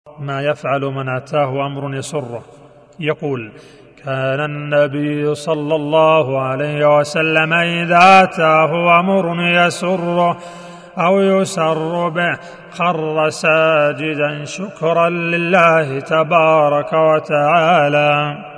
ما يفعل من أتاه أمر يسره. يقول: كان النبي صلى الله عليه وسلم إذا أتاه أمر يسره أو يسر به خر ساجدا شكرا لله تبارك وتعالى.